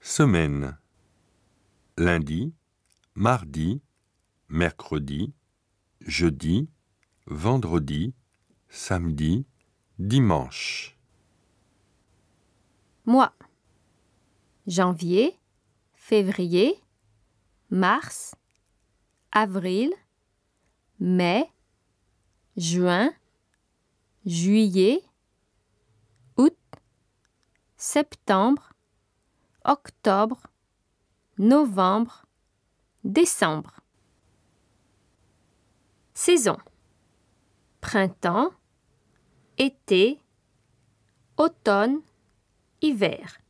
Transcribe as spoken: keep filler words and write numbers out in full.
Semaine. Lundi, mardi, mercredi, jeudi, vendredi, samedi, dimanche. Mois. Janvier, février, mars, avril, mai, juin, juillet, août, septembre, octobre, novembre, décembre. Saison. Printemps, été, automne, hiver.